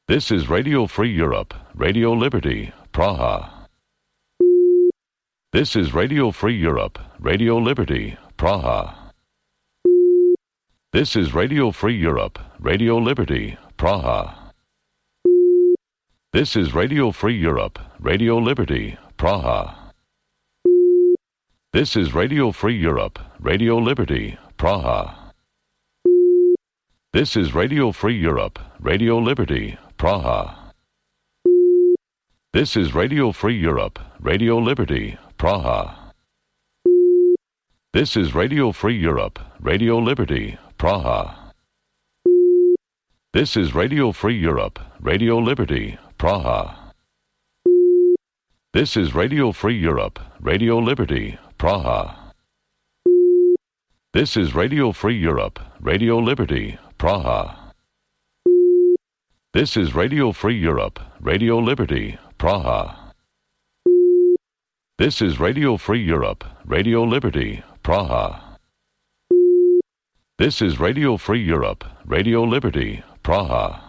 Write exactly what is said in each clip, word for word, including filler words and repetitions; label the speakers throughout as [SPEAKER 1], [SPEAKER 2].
[SPEAKER 1] This is Radio Free Europe, Radio Liberty, Praha. This is Radio Free Europe, Radio Liberty, Praha. This is Radio Free Europe, Radio Liberty, Praha. This is Radio Free Europe, Radio Liberty, Praha. This is Radio Free Europe, Radio Liberty, Praha. This is Radio Free Europe, Radio Liberty, Praha. This is Radio Free Europe, Radio Liberty, Praha. This is Radio Free Europe, Radio Liberty, Praha. This is Radio Free Europe, Radio Liberty, Praha. This is Radio Free Europe, Radio Liberty, Praha. This is Radio Free Europe, Radio Liberty, Praha. This is Radio Free Europe, Radio Liberty, Praha. This is Radio Free Europe, Radio Liberty, Praha. This is Radio Free Europe, Radio Liberty, Praha.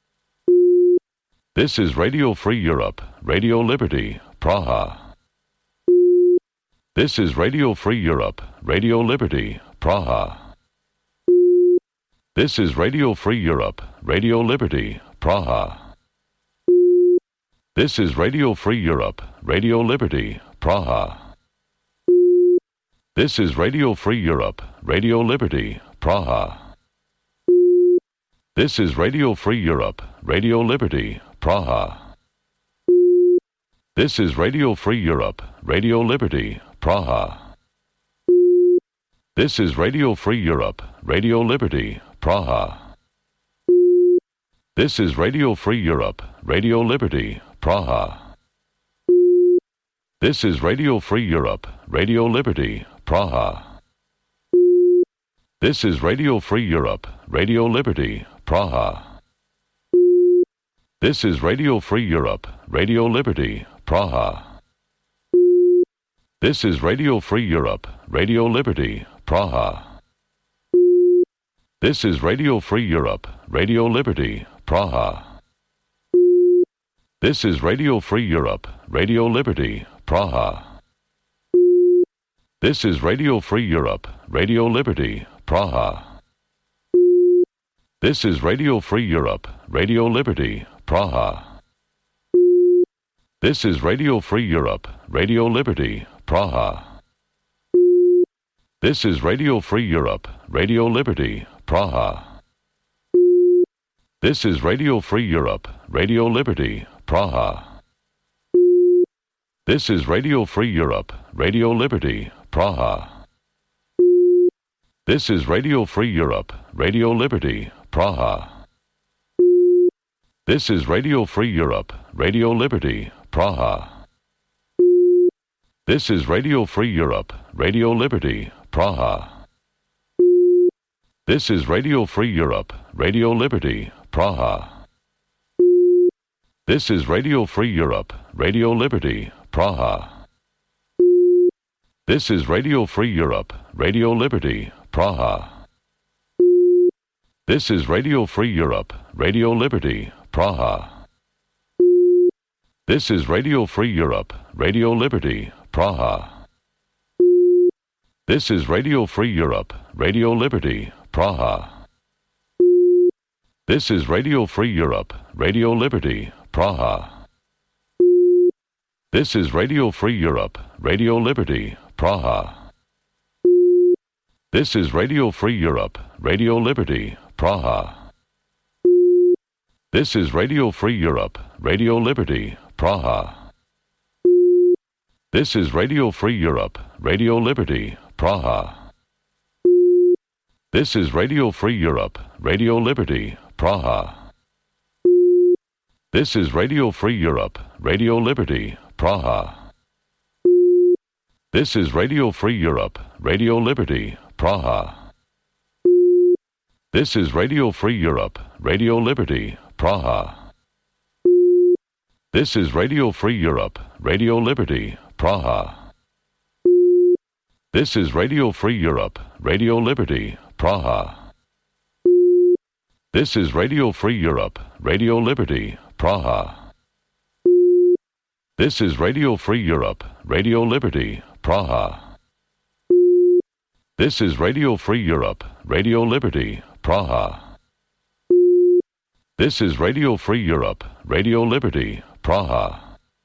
[SPEAKER 1] This is Radio Free Europe, Radio Liberty, Praha. This is Radio Free Europe, Radio Liberty, Praha. This is Radio Free Europe, Radio Liberty, Praha. This is Radio Free Europe, Radio Liberty, Praha. This is Radio Free Europe, Radio Liberty, Praha. This is Radio Free Europe, Radio Liberty, Praha. This is Radio Free Europe, Radio Liberty, Praha. This is Radio Free Europe, Radio Liberty, Praha. This is Radio Free Europe, Radio Liberty, Praha. This is Radio Free Europe, Radio Liberty, Praha. This is Radio Free Europe, Radio Liberty, Praha. This is Radio Free Europe, Radio Liberty, Praha. This is Radio Free Europe, Radio Liberty, Praha. This is Radio Free Europe, Radio Liberty, Praha. This is Radio Free Europe, Radio Liberty, Praha. This is Radio Free Europe, Radio Liberty, Praha. This is Radio Free Europe, Radio Liberty, Praha. This is Radio Free Europe, Radio Liberty, Praha. This is Radio Free Europe, Radio Liberty, Praha. This is Radio Free Europe, Radio Liberty, Praha. This is Radio Free Europe, Radio Liberty, Praha. This is Radio Free Europe, Radio Liberty, Praha. This is Radio Free Europe, Radio Liberty, Praha. This is Radio Free Europe, Radio Liberty, Praha. This is Radio Free Europe, Radio Liberty, Praha. This is Radio Free Europe, Radio Liberty, Praha. This is Radio Free Europe, Radio Liberty, Praha. This is Radio Free Europe, Radio Liberty, Praha. This is Radio Free Europe, Radio Liberty, Praha. This is Radio Free Europe, Radio Liberty, Praha. This is Radio Free Europe, Radio Liberty, Praha. This is Radio Free Europe, Radio Liberty, Praha. This is Radio Free Europe, Radio Liberty, Praha. This is Radio Free Europe, Radio Liberty, Praha. This is Radio Free Europe, Radio Liberty, Praha. This is Radio Free Europe, Radio Liberty, Praha. This is Radio Free Europe, Radio Liberty, Praha. This is Radio Free Europe, Radio Liberty, Praha. This is Radio Free Europe, Radio Liberty, Praha. This is Radio Free Europe, Radio Liberty, Praha. This is Radio Free Europe, Radio Liberty, Praha. This is Radio Free Europe, Radio Liberty, Praha. This is Radio Free Europe, Radio Liberty, Praha. This is Radio Free Europe, Radio Liberty, Praha. This is Radio Free Europe, Radio Liberty, Praha.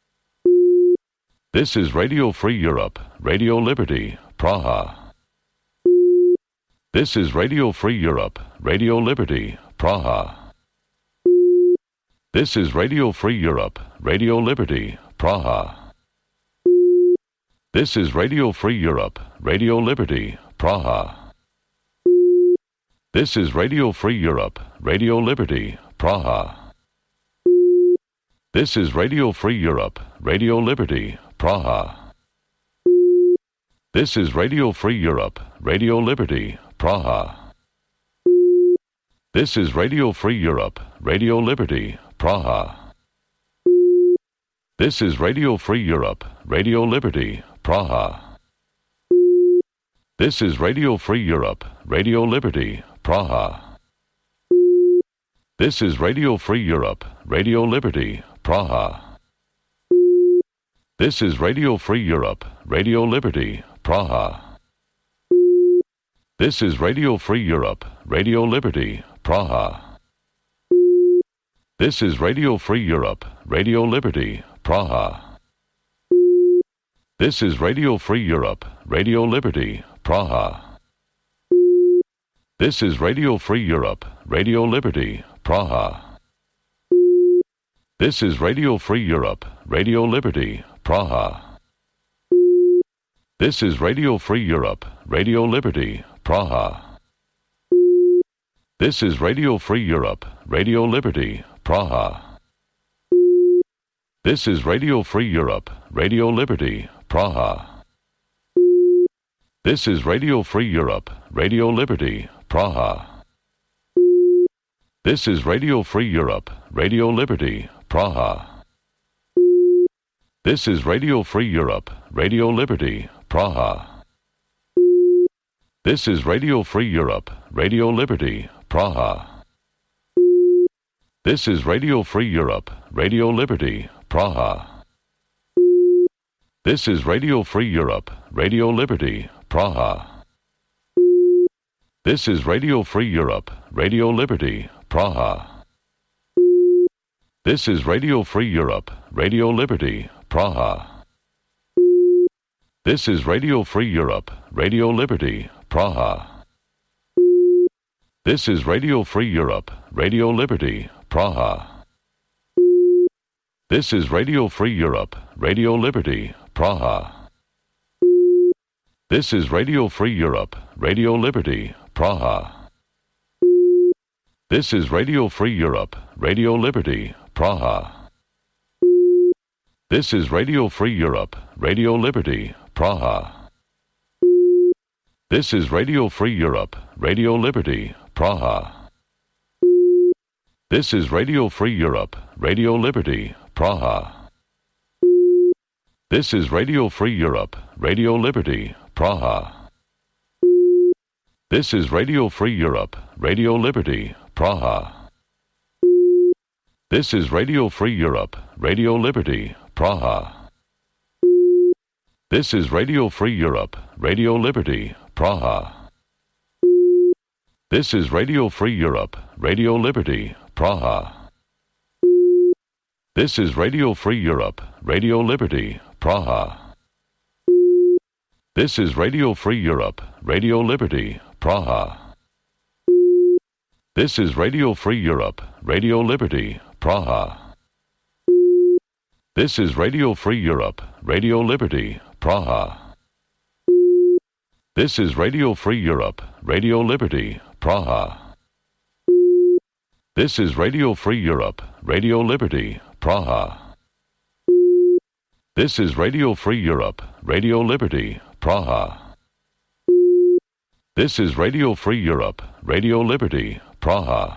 [SPEAKER 1] This is Radio Free Europe, Radio Liberty, Praha. This is Radio Free Europe, Radio Liberty, Praha. This is Radio Free Europe, Radio Liberty, Praha. This is Radio Free Europe, Radio Liberty, Praha. This is Radio Free Europe, Radio Liberty, Praha. This is Radio Free Europe, Radio Liberty, Praha. This is Radio Free Europe, Radio Liberty, Praha. This is Radio Free Europe, Radio Liberty, Praha. This is Radio Free Europe, Radio Liberty, Praha. This is Radio Free Europe, Radio Liberty, Praha. This is Radio Free Europe, Radio Liberty, Praha. This is Radio Free Europe, Radio Liberty, Praha. This is Radio Free Europe, Radio Liberty, Praha. This is Radio Free Europe, Radio Liberty, Praha. This is Radio Free Europe, Radio Liberty, Praha. This is Radio Free Europe, Radio Liberty, Praha. This is Radio Free Europe, Radio Liberty, Praha. This is Radio Free Europe, Radio Liberty, Praha. This is Radio Free Europe, Radio Liberty, Praha. This is Radio Free Europe, Radio Liberty, Praha. This is Radio Free Europe, Radio Liberty, Praha. This is Radio Free Europe, Radio Liberty, Praha. This is Radio Free Europe, Radio Liberty, Praha. This is Radio Free Europe, Radio Liberty, Praha. This is Radio Free Europe, Radio Liberty, Praha. This is Radio Free Europe, Radio Liberty, Praha. This is Radio Free Europe, Radio Liberty, Praha. This is Radio Free Europe, Radio Liberty, Praha. This is Radio Free Europe, Radio Liberty, Praha. This is Radio Free Europe, Radio Liberty, Praha. This is Radio Free Europe, Radio Liberty, Praha. This is Radio Free Europe, Radio Liberty, Praha. This is Radio Free Europe, Radio Liberty, Praha. This is Radio Free Europe, Radio Liberty, Praha. This is Radio Free Europe, Radio Liberty, Praha. This is Radio Free Europe, Radio Liberty, Praha. This is Radio Free Europe, Radio Liberty, Praha. This is Radio Free Europe, Radio Liberty, Praha. This is Radio Free Europe, Radio Liberty, Praha. This is Radio Free Europe, Radio Liberty, Praha. This is Radio Free Europe, Radio Liberty, Praha. This is Radio Free Europe, Radio Liberty, Praha. This is Radio Free Europe, Radio Liberty, Praha. This is Radio Free Europe, Radio Liberty, Praha. This is Radio Free Europe, Radio Liberty, Praha. This is Radio Free Europe, Radio Liberty, Praha. This is Radio Free Europe, Radio Liberty, Praha. This is Radio Free Europe, Radio Liberty, Praha. This is Radio Free Europe, Radio Liberty, Praha.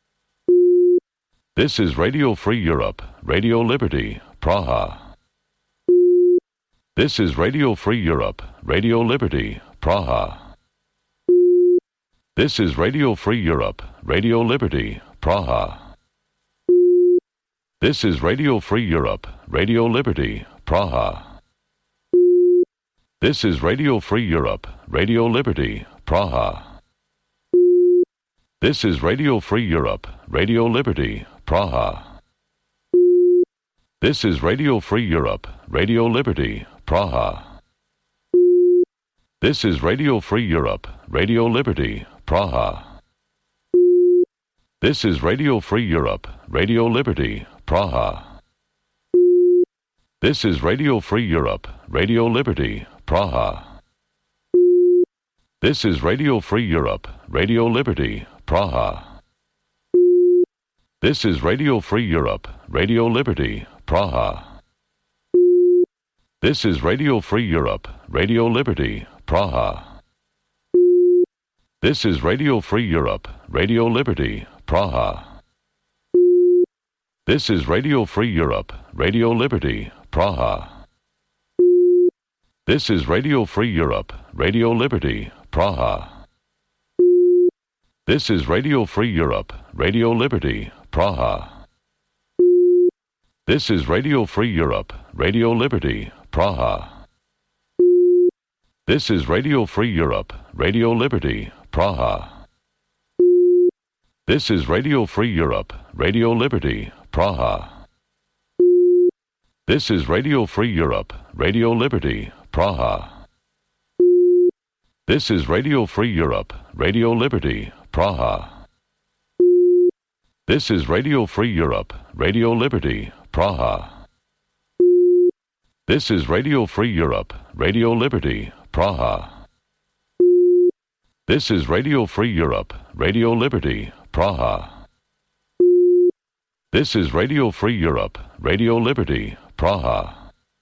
[SPEAKER 1] This is Radio Free Europe, Radio Liberty, Praha. This is Radio Free Europe, Radio Liberty, Praha. This is Radio Free Europe, Radio Liberty, Praha. This is Radio Free Europe, Radio Liberty, Praha. This is Radio Free Europe, Radio Liberty, Praha. This is Radio Free Europe, Radio Liberty, Praha. This is Radio Free Europe, Radio Liberty, Praha. This is Radio Free Europe, Radio Liberty, Praha. This is Radio Free Europe, Radio Liberty, Praha. This is Radio Free Europe, Radio Liberty, Praha. This is Radio Free Europe, Radio Liberty, Praha. This is Radio Free Europe, Radio Liberty, Praha. This is Radio Free Europe, Radio Liberty, Praha. This is Radio Free Europe, Radio Liberty, Praha. This is Radio Free Europe, Radio Liberty, Praha. This is Radio Free Europe, Radio Liberty, Praha. This is Radio Free Europe, Radio Liberty, Praha. This is Radio Free Europe, Radio Liberty, Praha. This is Radio Free Europe, Radio Liberty, Praha. This is Radio Free Europe, Radio Liberty, Praha. This is Radio Free Europe, Radio Liberty, Praha. This is Radio Free Europe, Radio Liberty, Praha. This is Radio Free Europe, Radio Liberty, Praha. This is Radio Free Europe, Radio Liberty, Praha. This is Radio Free Europe, Radio Liberty, Praha. This is Radio Free Europe, Radio Liberty, Praha.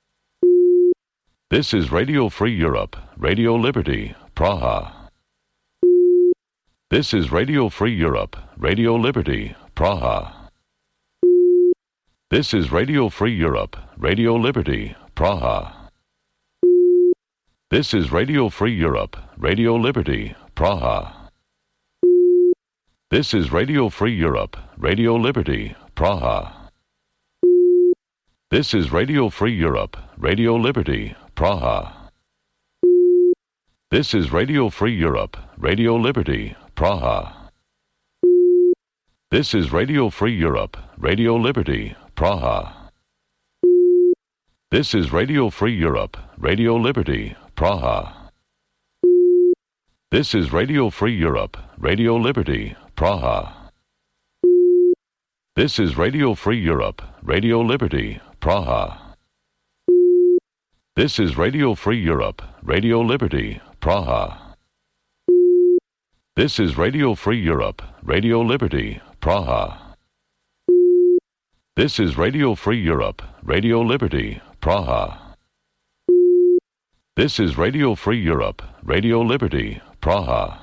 [SPEAKER 1] This is Radio Free Europe, Radio Liberty, Praha. This is Radio Free Europe, Radio Liberty, Praha. This is Radio Free Europe, Radio Liberty, Praha. This is Radio Free Europe, Radio Liberty, Praha. This is Radio Free Europe, Radio Liberty, Praha. This is Radio Free Europe, Radio Liberty, Praha. This is Radio Free Europe, Radio Liberty, Praha. This is Radio Free Europe, Radio Liberty, Praha. This is Radio Free Europe, Radio Liberty, Praha. This is Radio Free Europe, Radio Liberty, Praha. This is Radio Free Europe, Radio Liberty, Praha. This is Radio Free Europe, Radio Liberty, Praha. This is Radio Free Europe, Radio Liberty, Praha. This is Radio Free Europe, Radio Liberty, Praha. This is Radio Free Europe, Radio Liberty, Praha.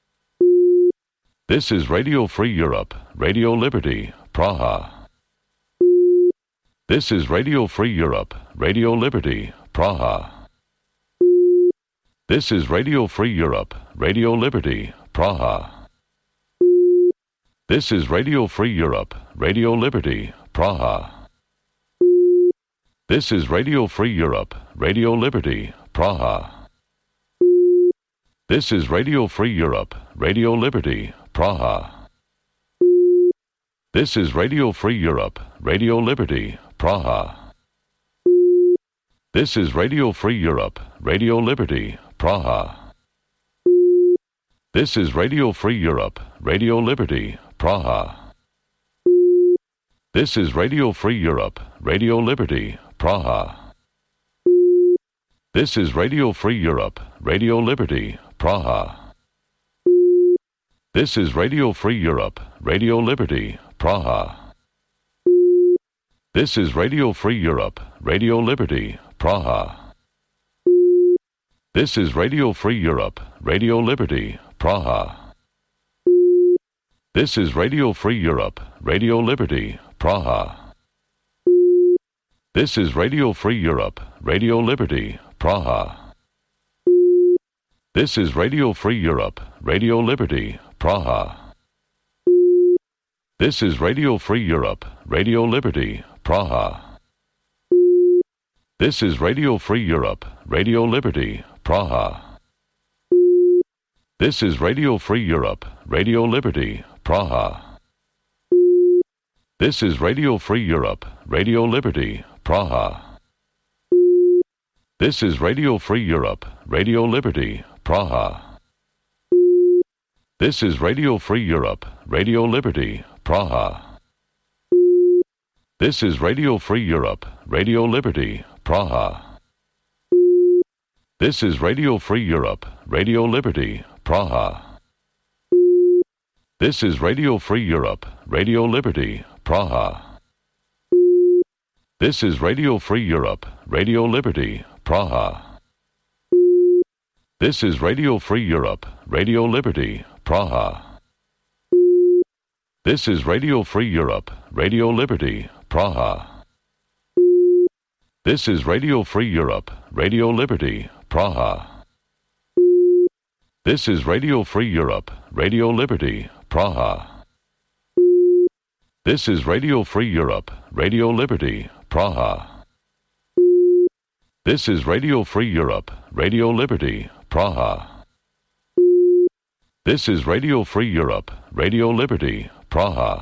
[SPEAKER 1] This is Radio Free Europe, Radio Liberty, Praha. This is Radio Free Europe, Radio Liberty, Praha. This is Radio Free Europe, Radio Liberty, Praha. This is Radio Free Europe, Radio Liberty, Praha. This is Radio Free Europe, Radio Liberty, Praha. This is Radio Free Europe, Radio Liberty, Praha. This is Radio Free Europe, Radio Liberty, Praha. This is Radio Free Europe, Radio Liberty, Praha. This is Radio Free Europe, Radio Liberty, Praha. This is Radio Free Europe, Radio Liberty, Praha. This is Radio Free Europe, Radio Liberty, Praha. This is Radio Free Europe, Radio Liberty, Praha. This is Radio Free Europe, Radio Liberty, Praha. This is Radio Free Europe, Radio Liberty, Praha. This is Radio Free Europe, Radio Liberty, Praha. This is Radio Free Europe, Radio Liberty, Praha. This is Radio Free Europe, Radio Liberty, Praha. This is Radio Free Europe, Radio Liberty, Praha. This is Radio Free Europe, Radio Liberty, Praha. This is Radio Free Europe, Radio Liberty, Praha. This is Radio Free Europe, Radio Liberty, Praha. This is Radio Free Europe, Radio Liberty, Praha. This is Radio Free Europe, Radio Liberty, Praha. This is Radio Free Europe, Radio Liberty, Praha. This is Radio Free Europe, Radio Liberty, Praha. This is Radio Free Europe, Radio Liberty, Praha. This is Radio Free Europe, Radio Liberty, Praha. This is Radio Free Europe, Radio Liberty, Praha. This is Radio Free Europe, Radio Liberty, Praha. This is Radio Free Europe, Radio Liberty, Praha. This is Radio Free Europe, Radio Liberty, Praha. This is Radio Free Europe, Radio Liberty, Praha. This is Radio Free Europe, Radio Liberty, Praha. This is Radio Free Europe, Radio Liberty, Praha.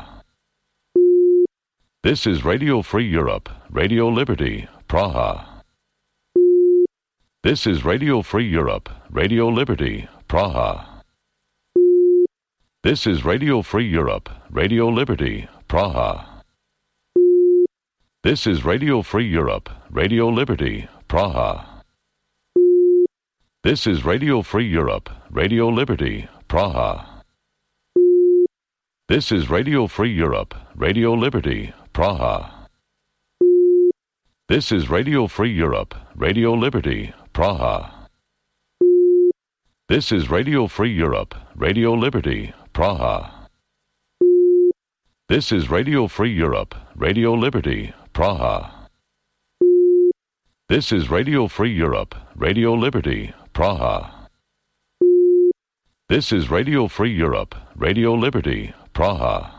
[SPEAKER 1] This is Radio Free Europe, Radio Liberty, Praha. This is Radio Free Europe, Radio Liberty, Praha. This is Radio Free Europe, Radio Liberty, Praha. This is Radio Free Europe, Radio Liberty, Praha. This is Radio Free Europe, Radio Liberty, Praha. This is Radio Free Europe, Radio Liberty, Praha. This is Radio Free Europe, Radio Liberty, Praha. This is Radio Free Europe, Radio Liberty, Praha. This is Radio Free Europe, Radio Liberty, Praha. This is Radio Free Europe, Radio Liberty, Praha. This is Radio Free Europe, Radio Liberty, Praha.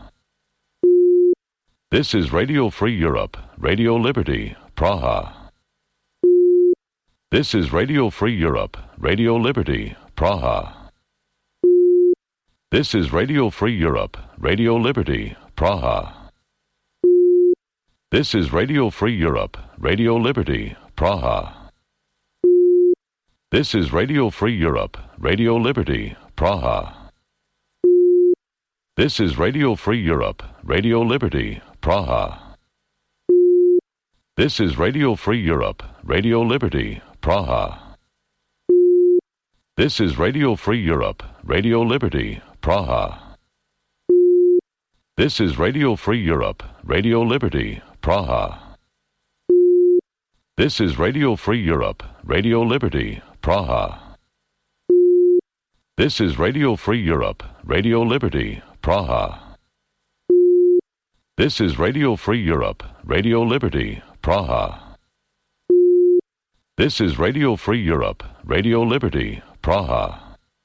[SPEAKER 1] This is Radio Free Europe, Radio Liberty, Praha. This is Radio Free Europe, Radio Liberty, Praha. This is Radio Free Europe, Radio Liberty, Praha. This is Radio Free Europe, Radio Liberty, Praha. This is Radio Free Europe, Radio Liberty, Praha. This is Radio Free Europe, Radio Liberty, Praha. This is Radio Free Europe, Radio Liberty, Praha. This is Radio Free Europe, Radio Liberty, Praha. This is Radio Free Europe, Radio Liberty, Praha. This is Radio Free Europe, Radio Liberty, Praha. This is Radio Free Europe, Radio Liberty, Praha. This is Radio Free Europe, Radio Liberty, Praha. This is Radio Free Europe, Radio Liberty, Praha.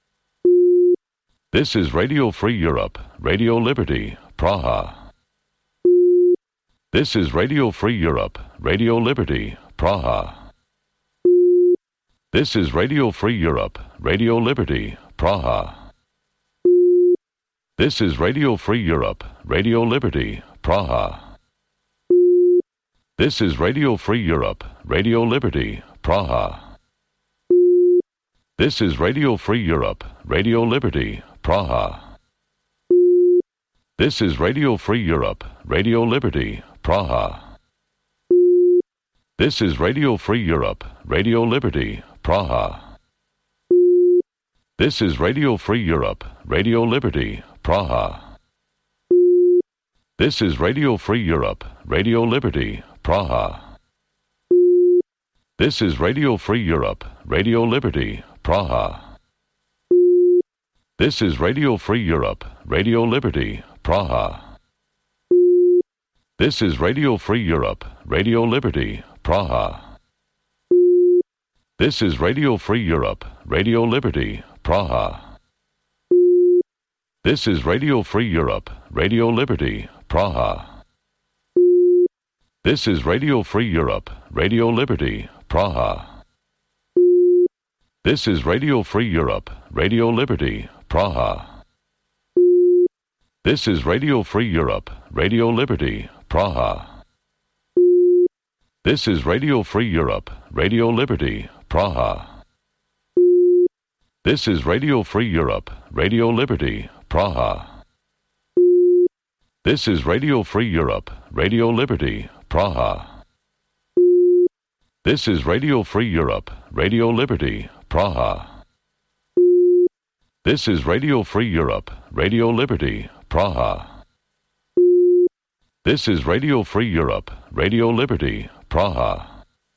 [SPEAKER 1] This is Radio Free Europe, Radio Liberty, Praha. This is Radio Free Europe, Radio Liberty, Praha. This is Radio Free Europe, Radio Liberty, Praha. This is Radio Free Europe, Radio Liberty, Praha. This is Radio Free Europe, Radio Liberty, Praha. This is Radio Free Europe, Radio Liberty, Praha. This is Radio Free Europe, Radio Liberty, Praha. This is Radio Free Europe, Radio Liberty, Praha. This is Radio Free Europe, Radio Liberty, Praha. This is Radio Free Europe, Radio Liberty, Praha. This is Radio Free Europe, Radio Liberty, Praha. This is Radio Free Europe, Radio Liberty, Praha. This is Radio Free Europe, Radio Liberty, Praha. This is Radio Free Europe, Radio Liberty, Praha. This is Radio Free Europe, Radio Liberty, Praha. This is Radio Free Europe, Radio Liberty, Praha. This is Radio Free Europe, Radio Liberty, Praha. This is Radio Free Europe, Radio Liberty, Praha. This is Radio Free Europe, Radio Liberty, Praha. This is Radio Free Europe, Radio Liberty, Praha. This is Radio Free Europe, Radio Liberty, Praha. This is Radio Free Europe, Radio Liberty, Praha. This is Radio Free Europe, Radio Liberty, Praha. This is Radio Free Europe, Radio Liberty, Praha.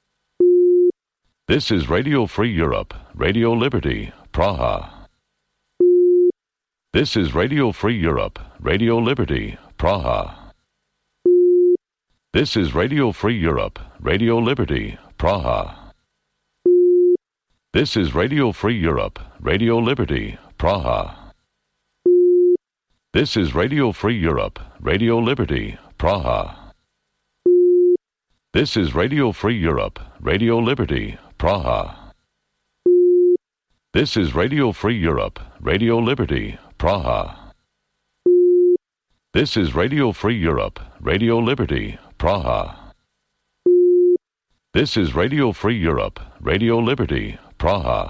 [SPEAKER 1] This is Radio Free Europe, Radio Liberty, Praha. This is Radio Free Europe, Radio Liberty, Praha. This is Radio Free Europe, Radio Liberty, Praha. This is Radio Free Europe, Radio Liberty, Praha. This is Radio Free Europe, Radio Liberty, Praha. This is Radio Free Europe, Radio Liberty, Praha. This is Radio Free Europe, Radio Liberty, Praha. This is Radio Free Europe, Radio Liberty, Praha. This is Radio Free Europe, Radio Liberty, Praha.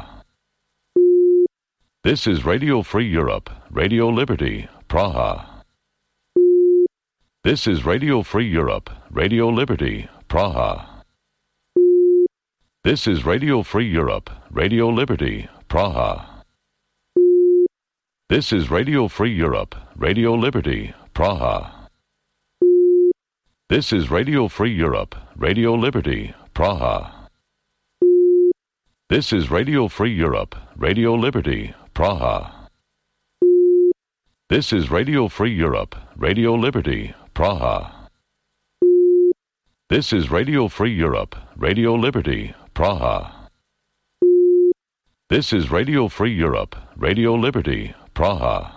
[SPEAKER 1] This is Radio Free Europe, Radio Liberty, Praha. This is Radio Free Europe, Radio Liberty, Praha. This is Radio Free Europe, Radio Liberty, Praha. This is Radio Free Europe, Radio Liberty, Praha. This is Radio Free Europe, Radio Liberty, Praha. This is Radio Free Europe, Radio Liberty, Praha. This is Radio Free Europe, Radio Liberty, Praha. This is Radio Free Europe, Radio Liberty, Praha. This is Radio Free Europe, Radio Liberty, Praha.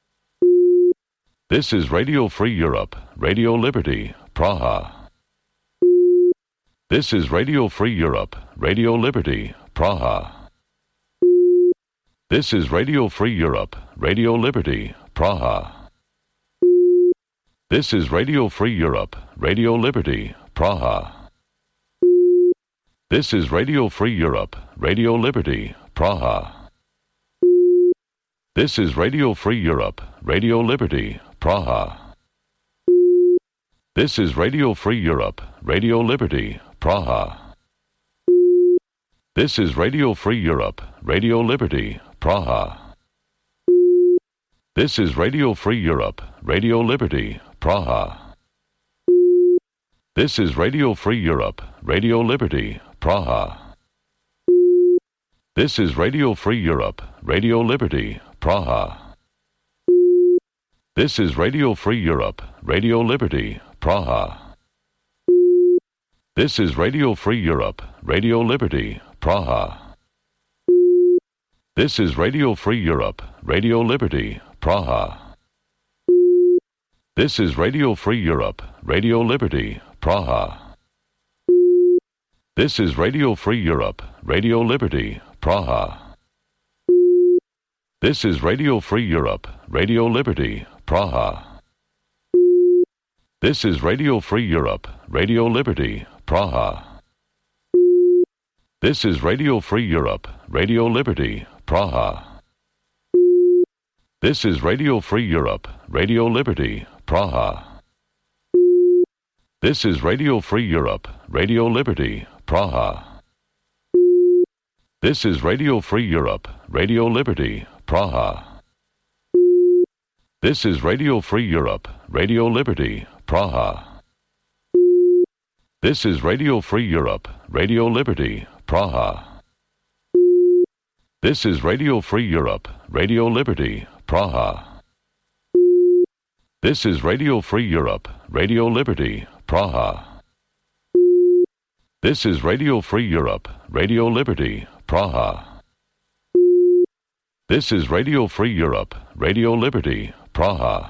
[SPEAKER 1] This is Radio Free Europe, Radio Liberty, Praha. This is Radio Free Europe, Radio Liberty, Praha. This is Radio Free Europe, Radio Liberty, Praha. This is Radio Free Europe, Radio Liberty, Praha. This is Radio Free Europe, Radio Liberty, Praha. This is Radio Free Europe, Radio Liberty, Praha. This is Radio Free Europe, Radio Liberty, Praha. This is Radio Free Europe, Radio Liberty, Praha. This is Radio Free Europe, Radio Liberty, Praha. This is Radio Free Europe, Radio Liberty, Praha. This is Radio Free Europe, Radio Liberty, Praha. This is Radio Free Europe, Radio Liberty, Praha. This is Radio Free Europe, Radio Liberty, Praha. This is Radio Free Europe, Radio Liberty, Praha. This is Radio Free Europe, Radio Liberty, Praha. This is Radio Free Europe, Radio Liberty, Praha. This is Radio Free Europe, Radio Liberty, Praha. This is Radio Free Europe, Radio Liberty, Praha. This is Radio Free Europe, Radio Liberty, Praha. This is Radio Free Europe, Radio Liberty, Praha. This is Radio Free Europe, Radio Liberty, Praha. This is Radio Free Europe, Radio Liberty, Praha. This is Radio Free Europe, Radio Liberty, Praha. This is Radio Free Europe, Radio Liberty, Praha. This is Radio Free Europe, Radio Liberty, Praha. This is Radio Free Europe, Radio Liberty, Praha. This is Radio Free Europe, Radio Liberty, Praha. This is Radio Free Europe, Radio Liberty, Praha.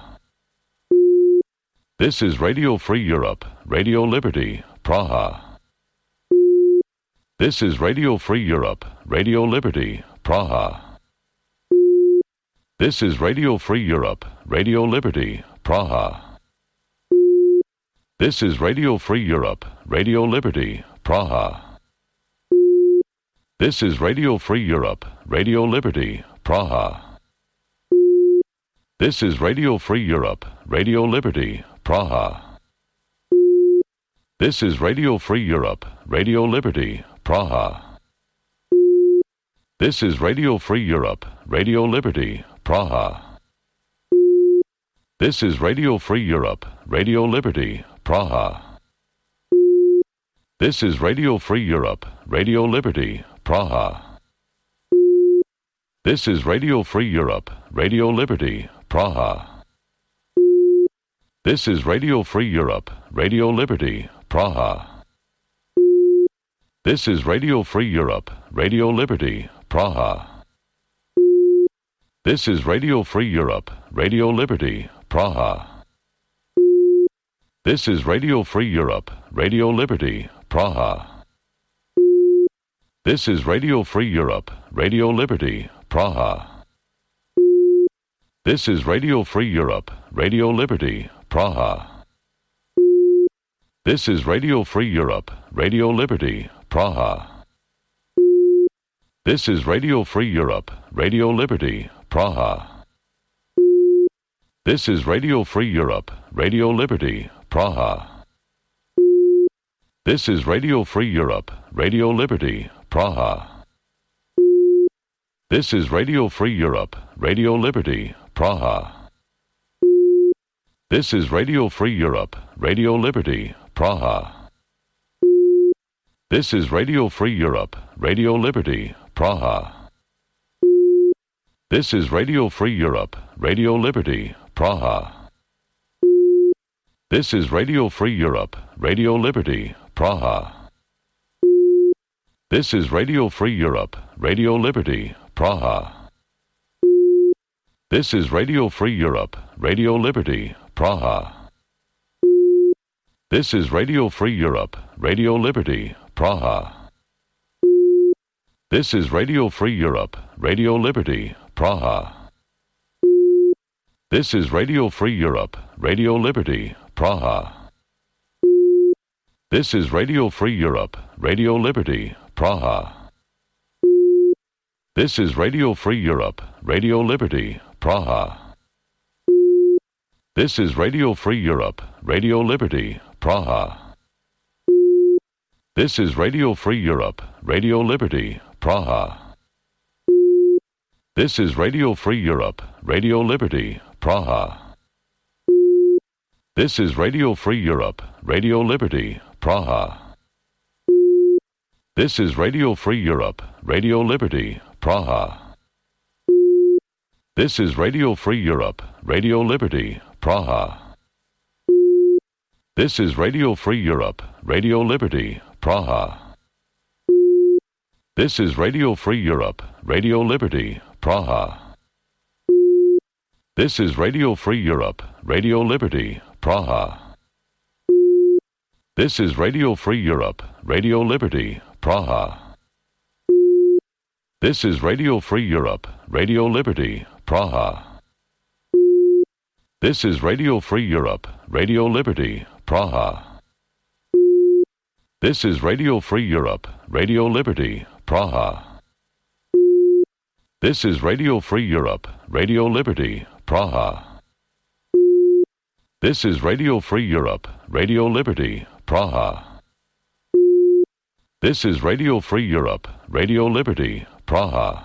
[SPEAKER 1] This is Radio Free Europe, Radio Liberty, Praha. This is Radio Free Europe, Radio Liberty, Praha. This is Radio Free Europe, Radio Liberty, Praha. This is Radio Free Europe, Radio Liberty, Praha. This is Radio Free Europe, Radio Liberty, Praha. This is Radio Free Europe, Radio Liberty, Praha. This is Radio Free Europe, Radio Liberty, Praha. This is Radio Free Europe, Radio Liberty, Praha. This is Radio Free Europe, Radio Liberty, Praha. This is Radio Free Europe, Radio Liberty, Praha. This is Radio Free Europe, Radio Liberty, Praha. This is Radio Free Europe, Radio Liberty, Praha. This is Radio Free Europe, Radio Liberty, Praha. This is Radio Free Europe, Radio Liberty, Praha. This is Radio Free Europe, Radio Liberty, Praha. This is Radio Free Europe, Radio Liberty, Praha. This is Radio Free Europe, Radio Liberty, Praha. This is Radio Free Europe, Radio Liberty, Praha. This is Radio Free Europe, Radio Liberty, Praha. This is Radio Free Europe, Radio Liberty, Praha. This is Radio Free Europe, Radio Liberty, Praha. This is Radio Free Europe, Radio Liberty, Praha. This is Radio Free Europe, Radio Liberty, Praha. This is Radio Free Europe, Radio Liberty, Praha. This is Radio Free Europe, Radio Liberty, Praha. This is Radio Free Europe, Radio Liberty, Praha. This is Radio Free Europe, Radio Liberty, Praha. This is Radio Free Europe, Radio Liberty, Praha. This is Radio Free Europe, Radio Liberty, Praha. This is Radio Free Europe, Radio Liberty, Praha. This is Radio Free Europe, Radio Liberty, Praha. This is Radio Free Europe, Radio Liberty, Praha. This is Radio Free Europe, Radio Liberty, Praha. This is Radio Free Europe, Radio Liberty, Praha. This is Radio Free Europe, Radio Liberty, Praha. This is Radio Free Europe, Radio Liberty, Praha. This is Radio Free Europe, Radio Liberty, Praha. This is Radio Free Europe, Radio Liberty, Praha. This is Radio Free Europe, Radio Liberty, Praha. This is Radio Free Europe, Radio Liberty, Praha. This is Radio Free Europe, Radio Liberty, Praha. This is Radio Free Europe, Radio Liberty, Praha. This is Radio Free Europe, Radio Liberty, Praha. This is Radio Free Europe, Radio Liberty, Praha. This is Radio Free Europe, Radio Liberty, Praha. This is Radio Free Europe, Radio Liberty, Praha. This is Radio Free Europe, Radio Liberty, Praha. This is Radio Free Europe, Radio Liberty, Praha. This is Radio Free Europe, Radio Liberty, Praha.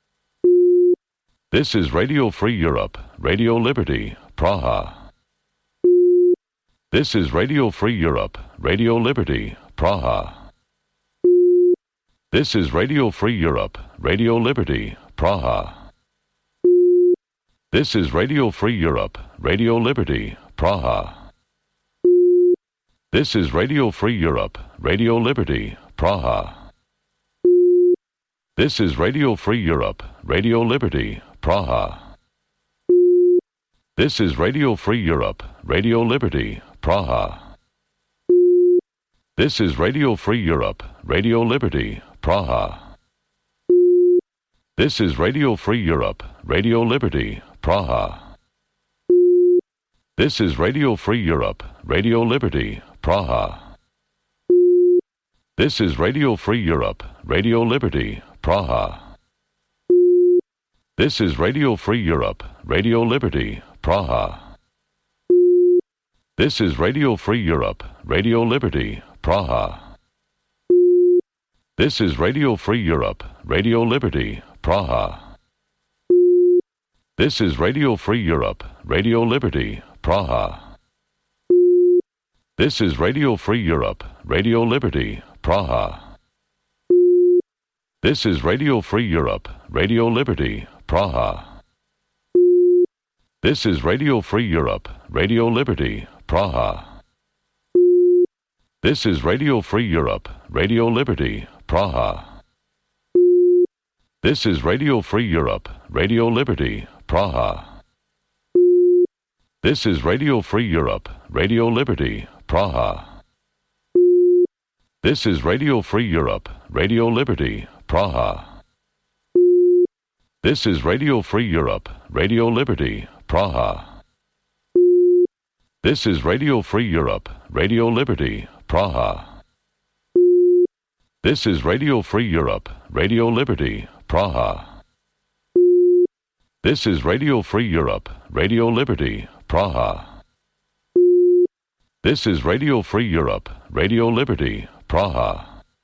[SPEAKER 1] This is Radio Free Europe, Radio Liberty, Praha. This is Radio Free Europe, Radio Liberty, Praha. This is Radio Free Europe, Radio Liberty, Praha. This is Radio Free Europe, Radio Liberty, Praha. This is Radio Free Europe, Radio Liberty, Praha. This is Radio Free Europe, Radio Liberty, Praha. This is Radio Free Europe, Radio Liberty, Praha. This is Radio Free Europe, Radio Liberty, Praha. This is Radio Free Europe, Radio Liberty, Praha. This is Radio Free Europe, Radio Liberty, Praha. This is Radio Free Europe, Radio Liberty, Praha. This is Radio Free Europe, Radio Liberty, Praha. This is Radio Free Europe, Radio Liberty, Praha. This is Radio Free Europe, Radio Liberty, Praha. This is Radio Free Europe, Radio Liberty, Praha. This is Radio Free Europe, Radio Liberty, Praha. This is Radio Free Europe, Radio Liberty, Praha. This is Radio Free Europe, Radio Liberty, Praha. This is Radio Free Europe, Radio Liberty, Praha. This is Radio Free Europe, Radio Liberty, Praha. This is Radio Free Europe, Radio Liberty, Praha. This is Radio Free Europe, Radio Liberty, Praha. This is Radio Free Europe, Radio Liberty, Praha. This is Radio Free Europe, Radio Liberty, Praha. This is Radio Free Europe, Radio Liberty, Praha. This is Radio Free Europe, Radio Liberty, Praha. This is Radio Free Europe, Radio Liberty, Praha.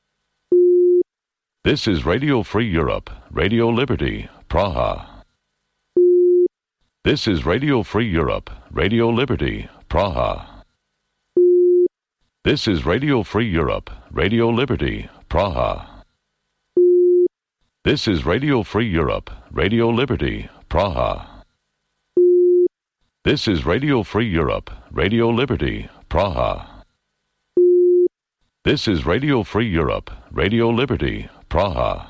[SPEAKER 1] This is Radio Free Europe, Radio Liberty, Praha. This is Radio Free Europe, Radio Liberty, Praha. This is Radio Free Europe, Radio Liberty, Praha. This is Radio Free Europe, Radio Liberty, Praha. This is Radio Free Europe, Radio Liberty, Praha. This is Radio Free Europe, Radio Liberty, Praha.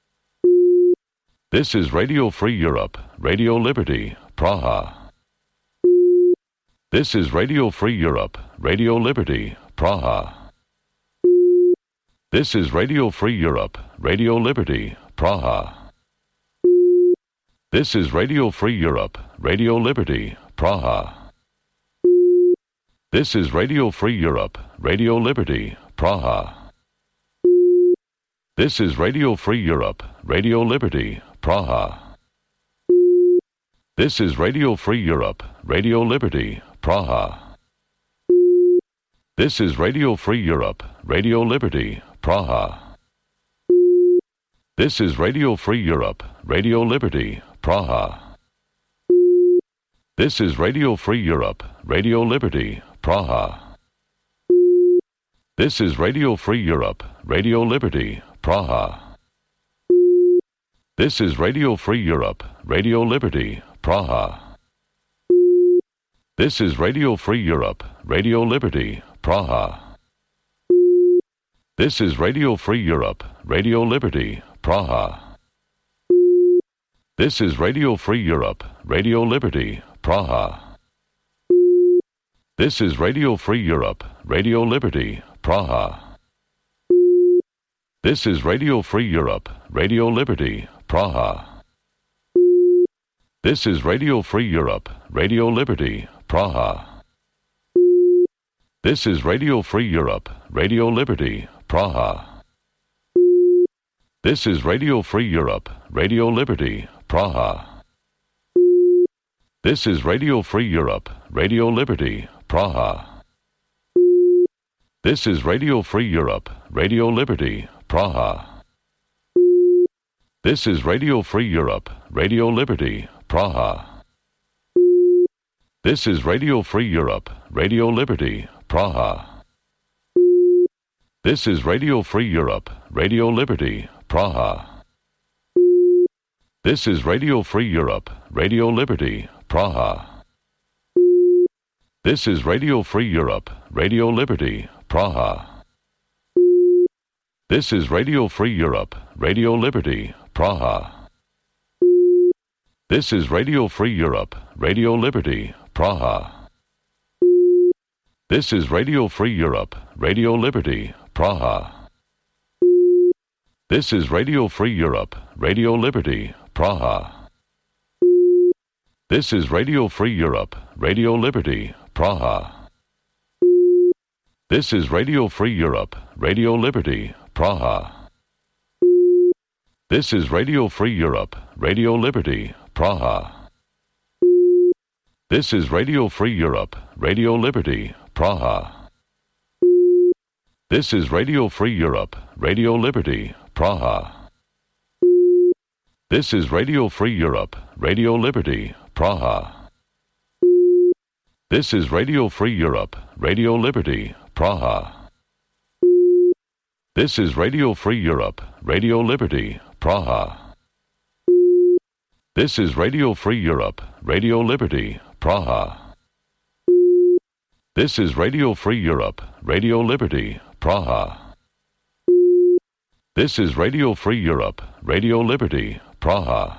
[SPEAKER 1] This is Radio Free Europe, Radio Liberty, Praha. This is Radio Free Europe, Radio Liberty, Praha. This is Radio Free Europe, Radio Liberty, Praha. This is Radio Free Europe, Radio Liberty, Praha. This is Radio Free Europe, Radio Liberty, Praha. This is Radio Free Europe, Radio Liberty, Praha. This is Radio Free Europe, Radio Liberty, Praha. This is Radio Free Europe, Radio Liberty, Praha. This is Radio Free Europe, Radio Liberty, Praha. This is Radio Free Europe, Radio Liberty, Praha. This is Radio Free Europe, Radio Liberty, Praha. This is Radio Free Europe, Radio Liberty, Praha. This is Radio Free Europe, Radio Liberty, Praha. This is Radio Free Europe, Radio Liberty, Praha. This is Radio Free Europe, Radio Liberty, Praha. This is Radio Free Europe, Radio Liberty, Praha. This is Radio Free Europe, Radio Liberty, Praha. This is Radio Free Europe, Radio Liberty, Praha. This is Radio Free Europe, Radio Liberty, Praha. This is Radio Free Europe, Radio Liberty, Praha. This is Radio Free Europe, Radio Liberty, Praha. This is Radio Free Europe, Radio Liberty, Praha. This is Radio Free Europe, Radio Liberty, Praha. This is Radio Free Europe, Radio Liberty, Praha. This is Radio Free Europe, Radio Liberty, Praha. This is Radio Free Europe, Radio Liberty, Praha. This is Radio Free Europe, Radio Liberty, Praha. This is Radio Free Europe, Radio Liberty, Praha. This is Radio Free Europe, Radio Liberty, Praha. This is Radio Free Europe, Radio Liberty, Praha. This is Radio Free Europe, Radio Liberty, Praha. This is Radio Free Europe, Radio Liberty, Praha. This is Radio Free Europe, Radio Liberty, Praha. This is Radio Free Europe, Radio Liberty, Praha. This is Radio Free Europe, Radio Liberty, Praha. This is Radio Free Europe, Radio Liberty, Praha. This is Radio Free Europe, Radio Liberty, Praha. This is Radio Free Europe, Radio Liberty, Praha. This is Radio Free Europe, Radio Liberty, Praha. This is Radio Free Europe, Radio Liberty, Praha. This is Radio Free Europe, Radio Liberty, Praha. This is Radio Free Europe, Radio Liberty, Praha.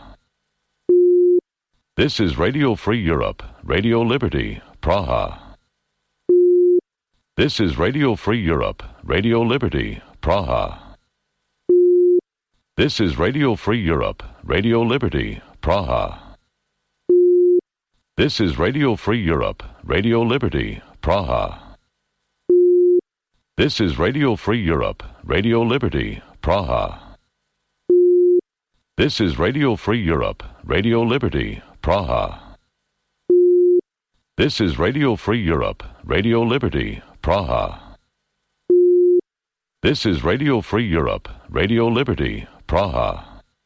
[SPEAKER 1] This is Radio Free Europe, Radio Liberty, Praha. This is Radio Free Europe, Radio Liberty, Praha. This is Radio Free Europe, Radio Liberty, Praha. This is Radio Free Europe, Radio Liberty, Praha. This is Radio Free Europe, Radio Liberty, Praha. This is Radio Free Europe, Radio Liberty, Praha. This is Radio Free Europe, Radio Liberty, Praha. This is Radio Free Europe, Radio Liberty, Praha.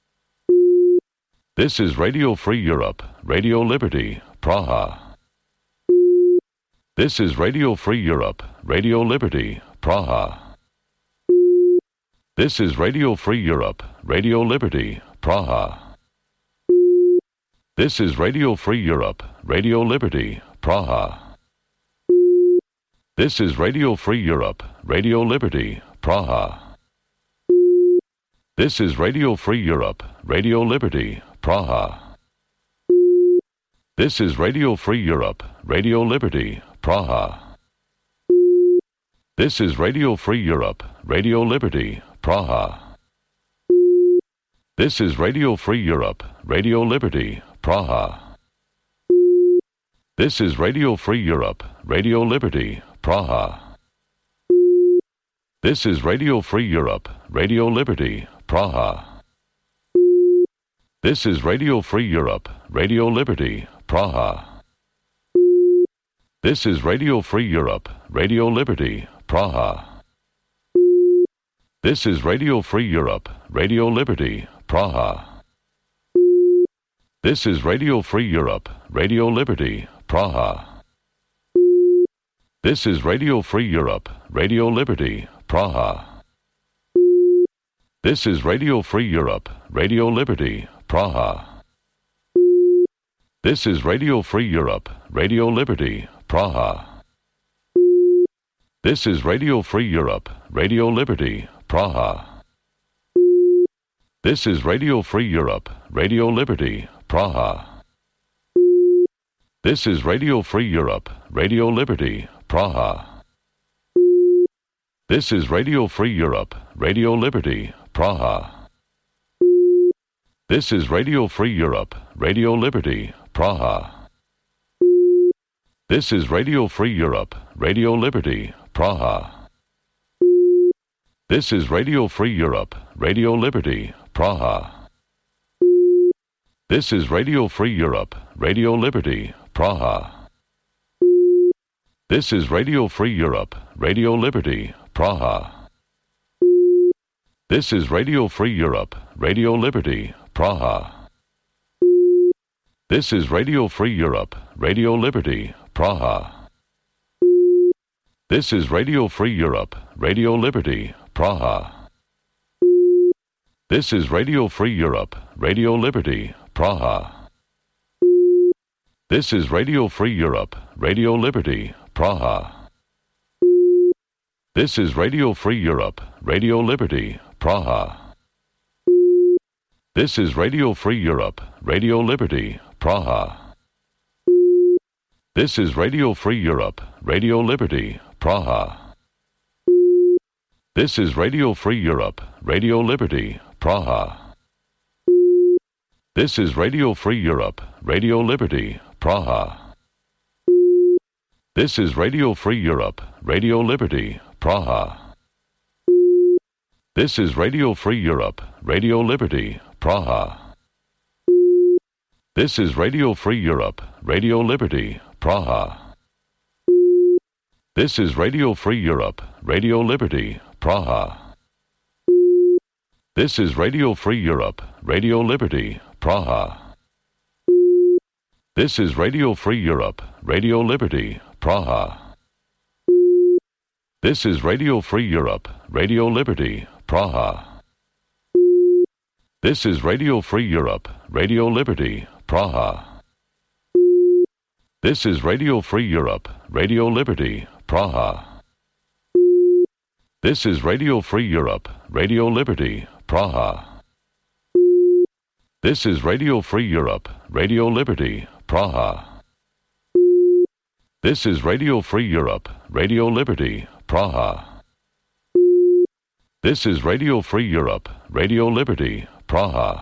[SPEAKER 1] This is Radio Free Europe, Radio Liberty, Praha. This is Radio Free Europe, Radio Liberty, Praha. This is Radio Free Europe, Radio Liberty, Praha. This is Radio Free Europe, Radio Liberty, Praha. This is Radio Free Europe, Radio Liberty, Praha. This is Radio Free Europe, Radio Liberty, Praha. This is Radio Free Europe, Radio Liberty, Praha. This is Radio Free Europe, Radio Liberty, Praha. This is Radio Free Europe, Radio Liberty, Praha. This is Radio Free Europe, Radio Liberty, Praha. This is Radio Free Europe, Radio Liberty, Praha. This is Radio Free Europe, Radio Liberty, Praha. This is Radio Free Europe, Radio Liberty, Praha. This is Radio Free Europe, Radio Liberty, Praha. This is Radio Free Europe, Radio Liberty, Praha. This is Radio Free Europe, Radio Liberty, Praha. This is Radio Free Europe, Radio Liberty, Praha. This is Radio Free Europe, Radio Liberty, Praha. This is Radio Free Europe, Radio Liberty, Praha. This is Radio Free Europe, Radio Liberty, Praha. This is Radio Free Europe, Radio Liberty, Praha. This is Radio Free Europe, Radio Liberty, Praha. This is Radio Free Europe, Radio Liberty, Praha. This is Radio Free Europe, Radio Liberty, Praha. This is Radio Free Europe, Radio Liberty, Praha. This is Radio Free Europe, Radio Liberty, Praha. This is Radio Free Europe, Radio Liberty, Praha. This is Radio Free Europe, Radio Liberty, Praha. This is Radio Free Europe, Radio Liberty, Praha. This is Radio Free Europe, Radio Liberty, Praha. This is Radio Free Europe, Radio Liberty, Praha. This is Radio Free Europe, Radio Liberty, Praha. This is Radio Free Europe, Radio Liberty, Praha. This is Radio Free Europe, Radio Liberty, Praha. This is Radio Free Europe, Radio Liberty, Praha. This is Radio Free Europe, Radio Liberty, Praha. This is Radio Free Europe, Radio Liberty, Praha. This is Radio Free Europe, Radio Liberty, Praha. This is Radio Free Europe, Radio Liberty, Praha. This is Radio Free Europe, Radio Liberty, Praha. This is Radio Free Europe, Radio Liberty, Praha. This is Radio Free Europe, Radio Liberty, Praha. This is Radio Free Europe, Radio Liberty, Praha. This is Radio Free Europe, Radio Liberty, Praha. This is Radio Free Europe, Radio Liberty, Praha. This is Radio Free Europe, Radio Liberty, Praha. This is Radio Free Europe, Radio Liberty, Praha. This is Radio Free Europe, Radio Liberty, Praha. This is Radio Free Europe, Radio Liberty, Praha. This is Radio Free Europe, Radio Liberty, Praha.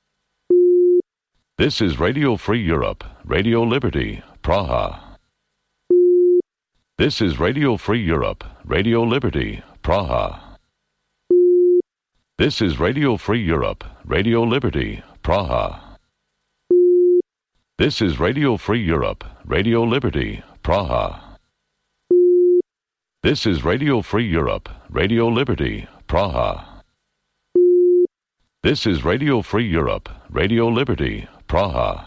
[SPEAKER 1] This is Radio Free Europe, Radio Liberty, Praha. This is Radio Free Europe, Radio Liberty, Praha. This is Radio Free Europe, Radio Liberty, Praha. This is Radio Free Europe, Radio Liberty, Praha. This is Radio Free Europe, Radio Liberty, Praha. This is Radio Free Europe, Radio Liberty, Praha.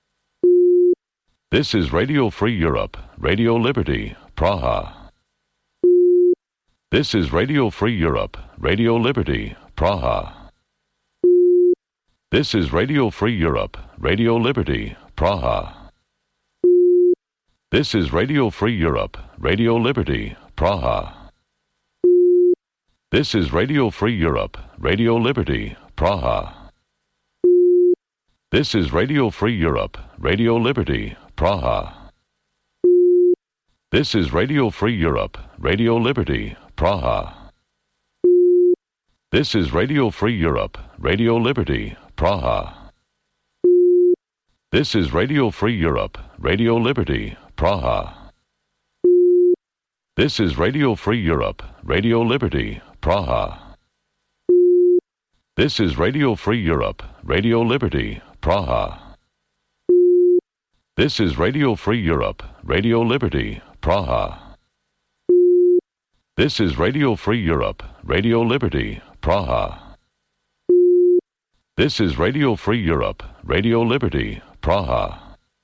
[SPEAKER 1] This is Radio Free Europe, Radio Liberty, Praha. This is Radio Free Europe, Radio Liberty, Praha. This is Radio Free Europe, Radio Liberty, Praha. This is Radio Free Europe, Radio Liberty, Praha. This is Radio Free Europe, Radio Liberty, Praha. This is Radio Free Europe, Radio Liberty, Praha. This is Radio Free Europe, Radio Liberty, Praha. This is Radio Free Europe, Radio Liberty, Praha. This is Radio Free Europe, Radio Liberty, Praha. This is Radio Free Europe, Radio Liberty, Praha. This is Radio Free Europe, Radio Liberty, Praha. This is Radio Free Europe, Radio Liberty, Praha. This is Radio Free Europe, Radio Liberty, Praha. This is Radio Free Europe, Radio Liberty, Praha.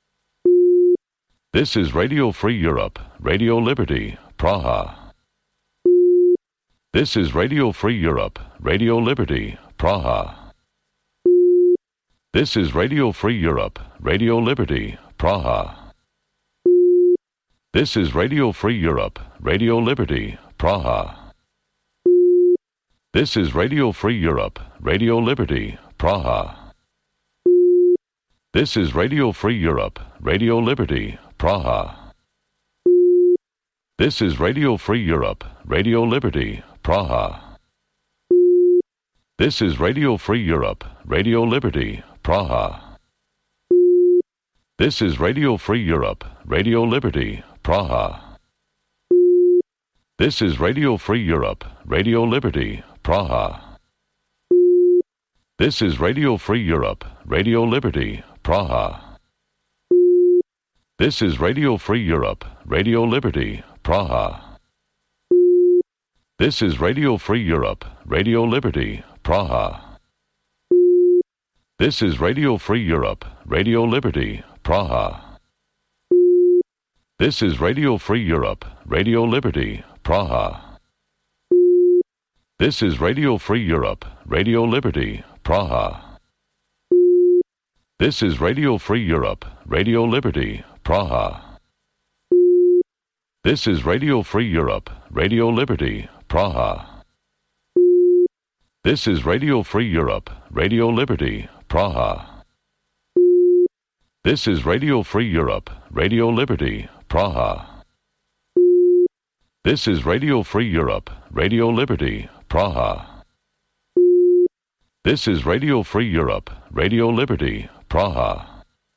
[SPEAKER 1] This is Radio Free Europe, Radio Liberty, Praha. This is Radio Free Europe, Radio Liberty, Praha. This is Radio Free Europe, Radio Liberty, Praha. This is Radio Free Europe, Radio Liberty, Praha. This is Radio Free Europe, Radio Liberty, Praha. This is Radio Free Europe, Radio Liberty, Praha. This is Radio Free Europe, Radio Liberty, Praha. This is Radio Free Europe, Radio Liberty, Praha. This is Radio Free Europe, Radio Liberty, Praha. This is Radio Free Europe, Radio Liberty, Praha. This is Radio Free Europe, Radio Liberty, Praha. This is Radio Free Europe, Radio Liberty, Praha. This is Radio Free Europe, Radio Liberty, Praha. This is Radio Free Europe, Radio Liberty, Praha. This is Radio Free Europe, Radio Liberty, Praha. This is Radio Free Europe, Radio Liberty, Praha. This is Radio Free Europe, Radio Liberty, Praha. This is Radio Free Europe, Radio Liberty, Praha. This is Radio Free Europe, Radio Liberty, Praha. This is Radio Free Europe, Radio Liberty, Praha. This is Radio Free Europe, Radio Liberty, Praha. This is Radio Free Europe, Radio Liberty, Praha.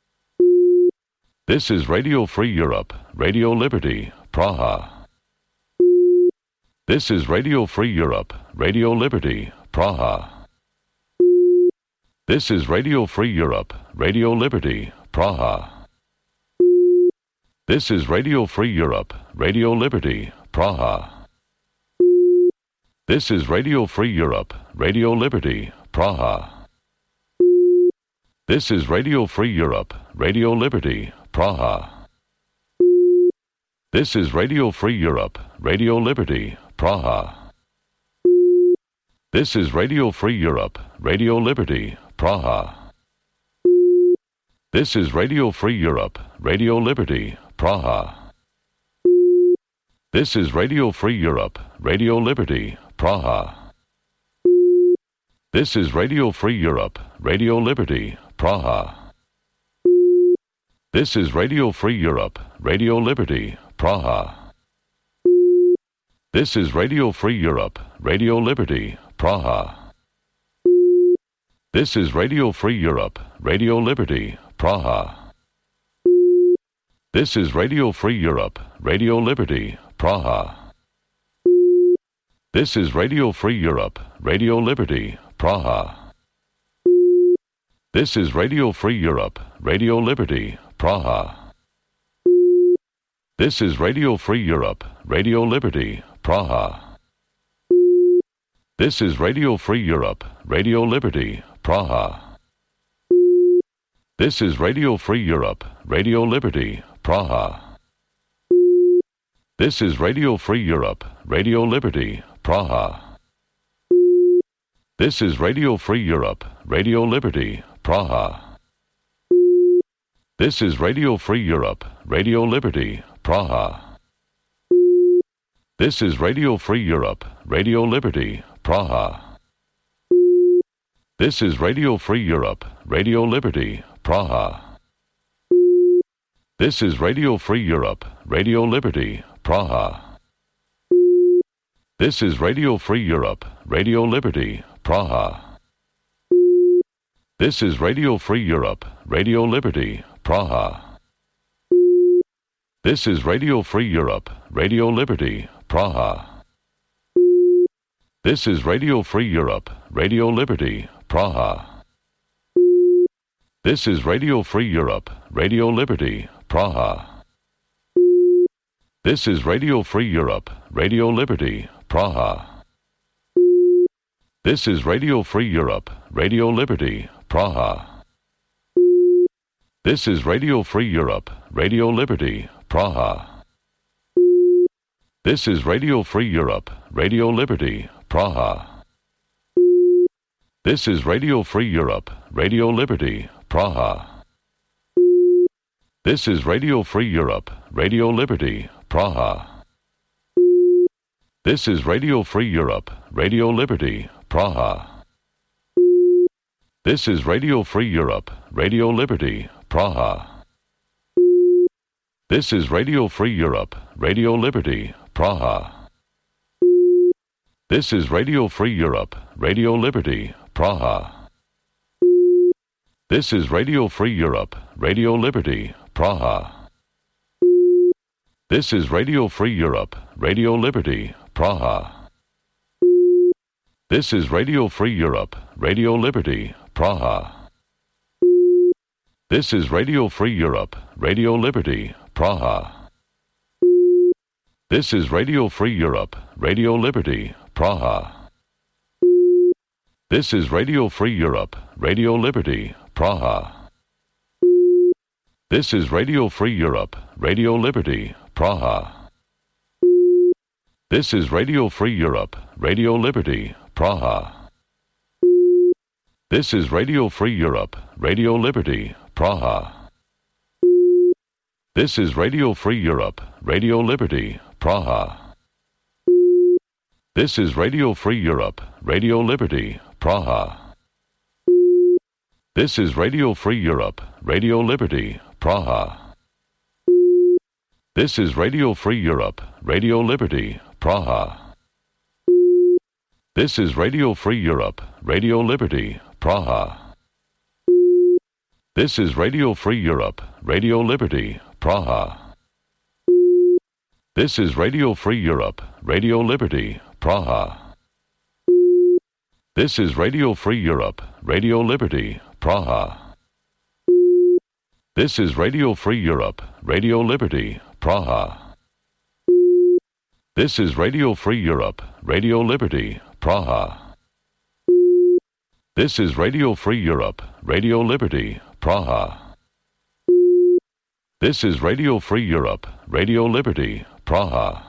[SPEAKER 1] This is Radio Free Europe, Radio Liberty, Praha. This is Radio Free Europe, Radio Liberty, Praha. This is Radio Free Europe, Radio Liberty, Praha. This is Radio Free Europe, Radio Liberty, Praha. This is Radio Free Europe, Radio Liberty, Praha. This is Radio Free Europe, Radio Liberty, Praha. This is Radio Free Europe, Radio Liberty, Praha. This is Radio Free Europe, Radio Liberty, Praha. This is Radio Free Europe, Radio Liberty, Praha. This is Radio Free Europe, Radio Liberty, Praha. This is Radio Free Europe, Radio Liberty, Praha. This is Radio Free Europe, Radio Liberty, Praha. This is Radio Free Europe, Radio Liberty, Praha. This is Radio Free Europe, Radio Liberty, Praha. This is Radio Free Europe, Radio Liberty, Praha. This is Radio Free Europe, Radio Liberty, Praha. This is Radio Free Europe, Radio Liberty, Praha. This is Radio Free Europe, Radio Liberty, Praha. This is Radio Free Europe, Radio Liberty, Praha. This is Radio Free Europe, Radio Liberty, Praha. This is Radio Free Europe, Radio Liberty, Praha. This is Radio Free Europe, Radio Liberty, Praha. This is Radio Free Europe, Radio Liberty, Praha. This is Radio Free Europe, Radio Liberty, Praha. This is Radio Free Europe, Radio Liberty, Praha. This is Radio Free Europe, Radio Liberty, Praha. This is Radio Free Europe, Radio Liberty, Praha. This is Radio Free Europe, Radio Liberty, Praha. This is Radio Free Europe, Radio Liberty, Praha. This is Radio Free Europe, Radio Liberty, Praha. This is Radio Free Europe, Radio Liberty, Praha. This is Radio Free Europe, Radio Liberty, Praha. This is Radio Free Europe, Radio Liberty, Praha. This is Radio Free Europe, Radio Liberty, Praha. This is Radio Free Europe, Radio Liberty, Praha. This is Radio Free Europe, Radio Liberty, Praha. This is Radio Free Europe, Radio Liberty, Praha. This is Radio Free Europe, Radio Liberty, Praha. This is Radio Free Europe, Radio Liberty, Praha. This is Radio Free Europe, Radio Liberty, Praha. This is Radio Free Europe, Radio Liberty, Praha. This is Radio Free Europe, Radio Liberty, Praha. This is Radio Free Europe, Radio Liberty, Praha. This is Radio Free Europe, Radio Liberty, Praha. This is Radio Free Europe, Radio Liberty, Praha. This is Radio Free Europe, Radio Liberty, Praha. This is Radio Free Europe, Radio Liberty, Praha. This is Radio Free Europe, Radio Liberty, Praha. This is Radio Free Europe, Radio Liberty, Praha. This is Radio Free Europe, Radio Liberty, Praha. This is Radio Free Europe, Radio Liberty, Praha. This is Radio Free Europe, Radio Liberty, Praha. This is Radio Free Europe, Radio Liberty, Praha. This is Radio Free Europe, Radio Liberty, Praha. This is Radio Free Europe, Radio Liberty, Praha. This is Radio Free Europe, Radio Liberty, Praha. This is Radio Free Europe, Radio Liberty, Praha. This is Radio Free Europe, Radio Liberty, Praha. This is Radio Free Europe, Radio Liberty, Praha. This is Radio Free Europe, Radio Liberty, Praha. This is Radio Free Europe, Radio Liberty, Praha. This is Radio Free Europe, Radio Liberty, Praha.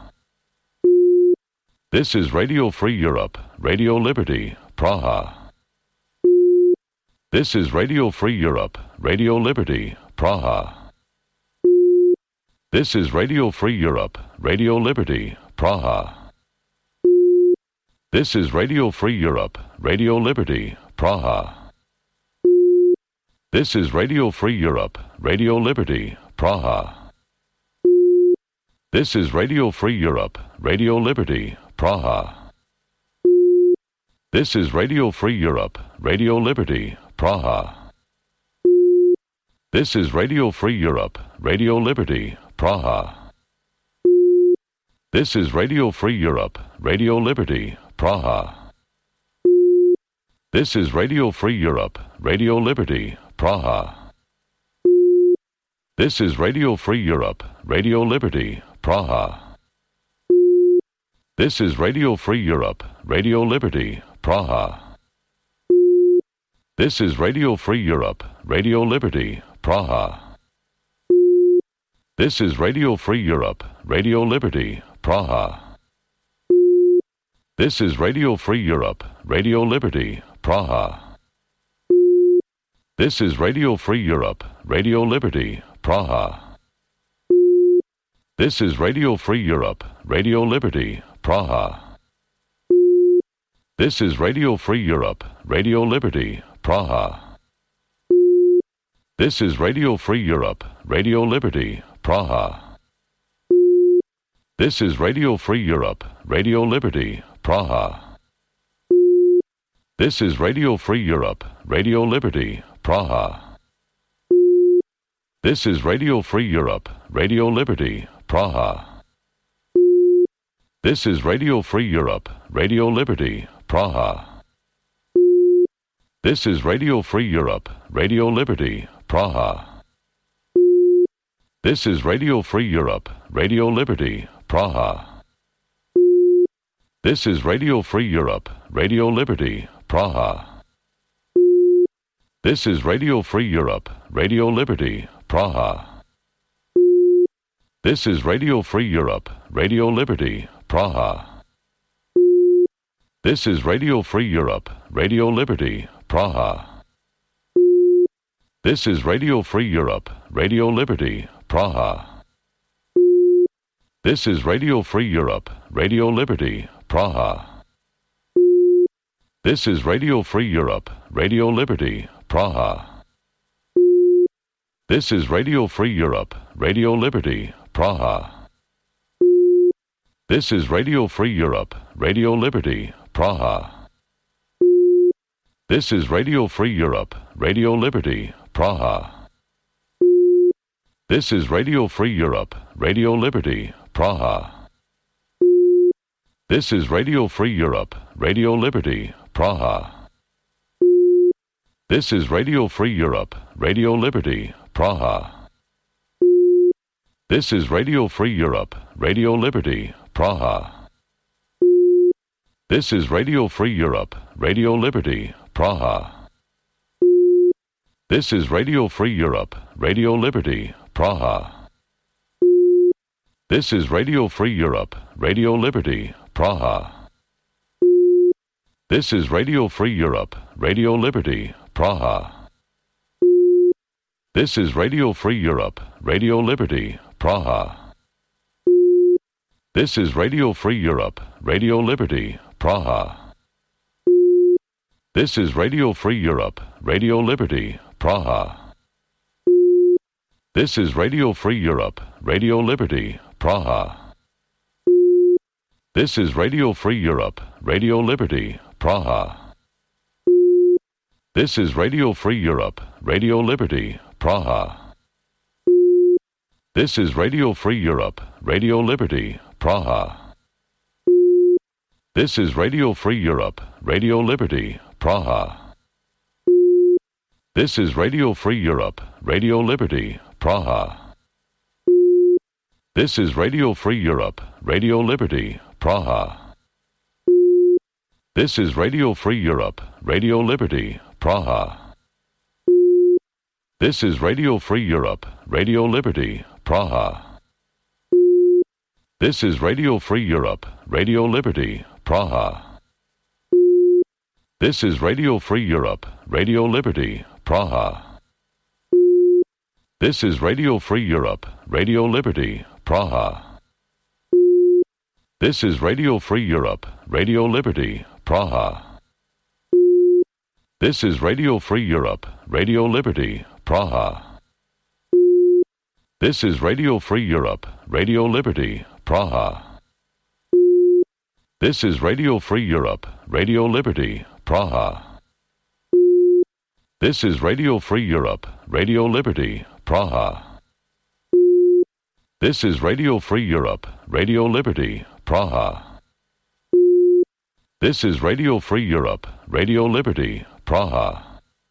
[SPEAKER 1] This is Radio Free Europe, Radio Liberty, Praha. This is Radio Free Europe, Radio Liberty, Praha. This is Radio Free Europe, Radio Liberty, Praha. This is Radio Free Europe, Radio Liberty, Praha. This is Radio Free Europe, Radio Liberty, Praha. This is Radio Free Europe, Radio Liberty, Praha. This is Radio Free Europe, Radio Liberty, Praha. This is Radio Free Europe, Radio Liberty, Praha. This is Radio Free Europe, Radio Liberty, Praha. This is Radio Free Europe, Radio Liberty, Praha. This is Radio Free Europe, Radio Liberty, Praha. This is Radio Free Europe, Radio Liberty, Praha. This is Radio Free Europe, Radio Liberty, Praha. This is Radio Free Europe, Radio Liberty, Praha. This is Radio Free Europe, Radio Liberty, Praha. This is Radio Free Europe, Radio Liberty, Praha. This is Radio Free Europe, Radio Liberty, Praha. This is Radio Free Europe, Radio Liberty, Praha. This is Radio Free Europe, Radio Liberty, Praha. This is Radio Free Europe, Radio Liberty, Praha. This is Radio Free Europe, Radio Liberty, Praha. This is Radio Free Europe, Radio Liberty, Praha. This is Radio Free Europe, Radio Liberty, Praha. This is Radio Free Europe, Radio Liberty, Praha. This is Radio Free Europe, Radio Liberty, Praha. This is Radio Free Europe, Radio Liberty, Praha. This is Radio Free Europe, Radio Liberty, Praha. This is Radio Free Europe, Radio Liberty, Praha. This is Radio Free Europe, Radio Liberty, Praha. This is Radio Free Europe, Radio Liberty, Praha. This is Radio Free Europe, Radio Liberty, Praha. This is Radio Free Europe, Radio Liberty, Praha. This is Radio Free Europe, Radio Liberty, Praha. This is Radio Free Europe, Radio Liberty, Praha. This is Radio Free Europe, Radio Liberty, Praha. This is Radio Free Europe, Radio Liberty, Praha. This is Radio Free Europe, Radio Liberty, Praha. This is Radio Free Europe, Radio Liberty, Praha. This is Radio Free Europe, Radio Liberty, Praha. This is Radio Free Europe, Radio Liberty, Praha. This is Radio Free Europe, Radio Liberty, Praha. This is Radio Free Europe, Radio Liberty, Praha. This is Radio Free Europe, Radio Liberty, Praha. This is Radio Free Europe, Radio Liberty, Praha. This is Radio Free Europe, Radio Liberty, Praha. This is Radio Free Europe, Radio Liberty, Praha. This is Radio Free Europe, Radio Liberty, Praha. This is Radio Free Europe, Radio Liberty, Praha. This is Radio Free Europe, Radio Liberty, Praha. This is Radio Free Europe, Radio Liberty, Praha. This is Radio Free Europe, Radio Liberty, Praha. This is Radio Free Europe, Radio Liberty, Praha. This is Radio Free Europe, Radio Liberty, Praha. This is Radio Free Europe, Radio Liberty, Praha. This is Radio Free Europe, Radio Liberty, Praha. This is Radio Free Europe, Radio Liberty, Praha. This is Radio Free Europe, Radio Liberty, Praha. This is Radio Free Europe, Radio Liberty, Praha. This is Radio Free Europe, Radio Liberty, Praha. This is Radio Free Europe, Radio Liberty, Praha. This is Radio Free Europe, Radio Liberty, Praha. This is Radio Free Europe, Radio Liberty, Praha. This is Radio Free Europe, Radio Liberty, Praha. This is Radio Free Europe, Radio Liberty, Praha. This is Radio Free Europe, Radio Liberty, Praha.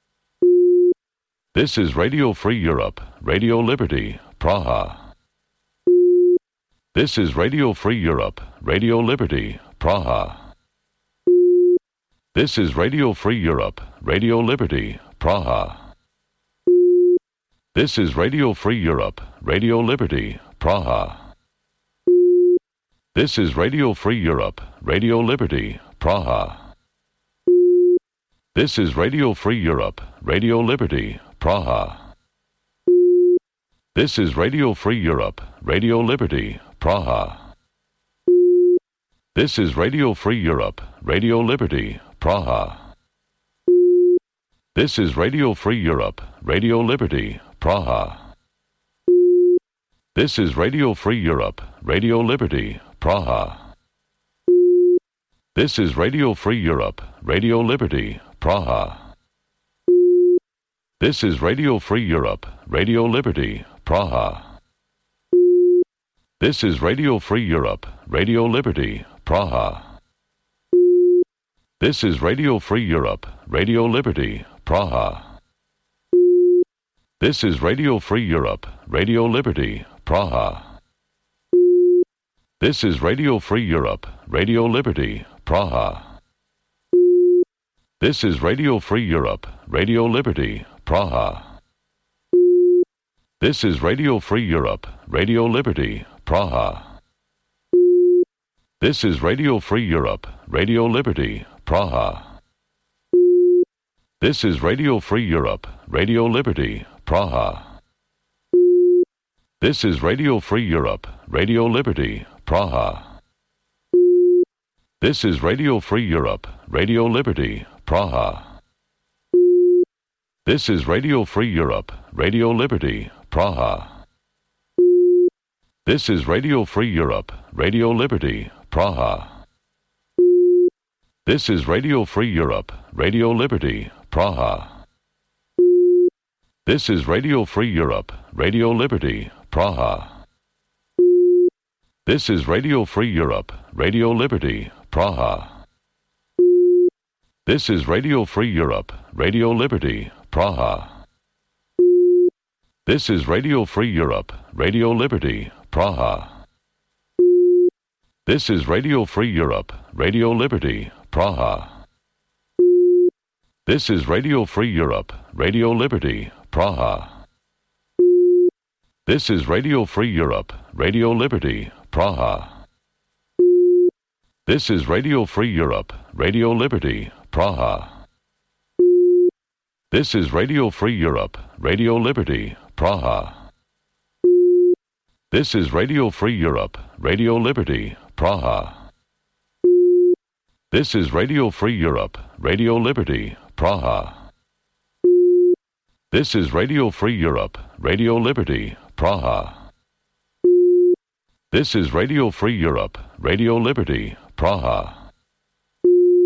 [SPEAKER 1] This is Radio Free Europe, Radio Liberty, Praha. This is Radio Free Europe, Radio Liberty, Praha. This is Radio Free Europe, Radio Liberty, Praha. This is Radio Free Europe, Radio Liberty, Praha. This is Radio Free Europe, Radio Liberty, Praha. This is Radio Free Europe, Radio Liberty, Praha. This is Radio Free Europe, Radio Liberty, Praha. This is Radio Free Europe, Radio Liberty, Praha. This is Radio Free Europe, Radio Liberty, Praha. This is Radio Free Europe, Radio Liberty, Praha. This is Radio Free Europe, Radio Liberty, Praha. This is Radio Free Europe, Radio Liberty, Praha. This is Radio Free Europe, Radio Liberty, Praha. This is Radio Free Europe, Radio Liberty, Praha. This is Radio Free Europe, Radio Liberty, Praha. This is Radio Free Europe, Radio Liberty, Praha. This is Radio Free Europe, Radio Liberty, Praha. This is Radio Free Europe, Radio Liberty, Praha. This is Radio Free Europe, Radio Liberty, Praha. This is Radio Free Europe, Radio Liberty, Praha. This is Radio Free Europe, Radio Liberty, Praha. This is Radio Free Europe, Radio Liberty, Praha. This is Radio Free Europe, Radio Liberty, Praha. This is Radio Free Europe, Radio Liberty, Praha. This is Radio Free Europe, Radio Liberty, Praha. This is Radio Free Europe, Radio Liberty, Praha. This is Radio Free Europe, Radio Liberty, Praha. This is Radio Free Europe, Radio Liberty, Praha. This is Radio Free Europe, Radio Liberty, Praha. This is Radio Free Europe, Radio Liberty, Praha. This is Radio Free Europe, Radio Liberty, Praha. This is Radio Free Europe, Radio Liberty, Praha. This is Radio Free Europe, Radio Liberty, Praha. This is Radio Free Europe, Radio Liberty, Praha. This is Radio Free Europe, Radio Liberty, Praha. This is Radio Free Europe, Radio Liberty, Praha. This is Radio Free Europe, Radio Liberty, Praha. This is Radio Free Europe, Radio Liberty, Praha.